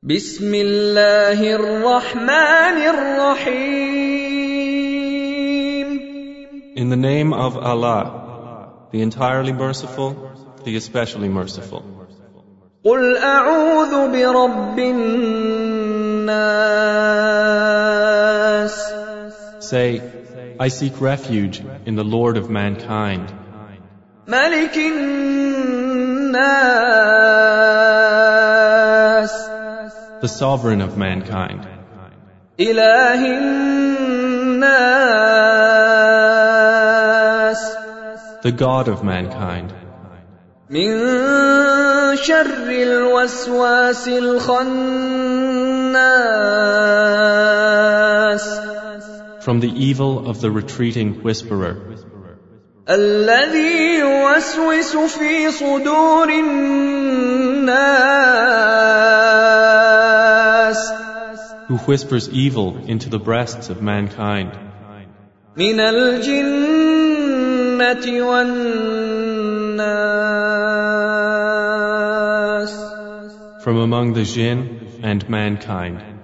بسم الله الرحمن الرحيم. In the name of Allah, the entirely merciful, the especially merciful. قل أعوذ برب الناس. Say, I seek refuge in the Lord of mankind, ملك الناس. the sovereign of mankind, إله الناس. the God of mankind, من شر الوسواس الخناس. from the evil of the retreating whisperer, الذي يوسوس في صدور الناس. who whispers evil into the breasts of mankind, من الجنة والناس. from among the jinn and mankind.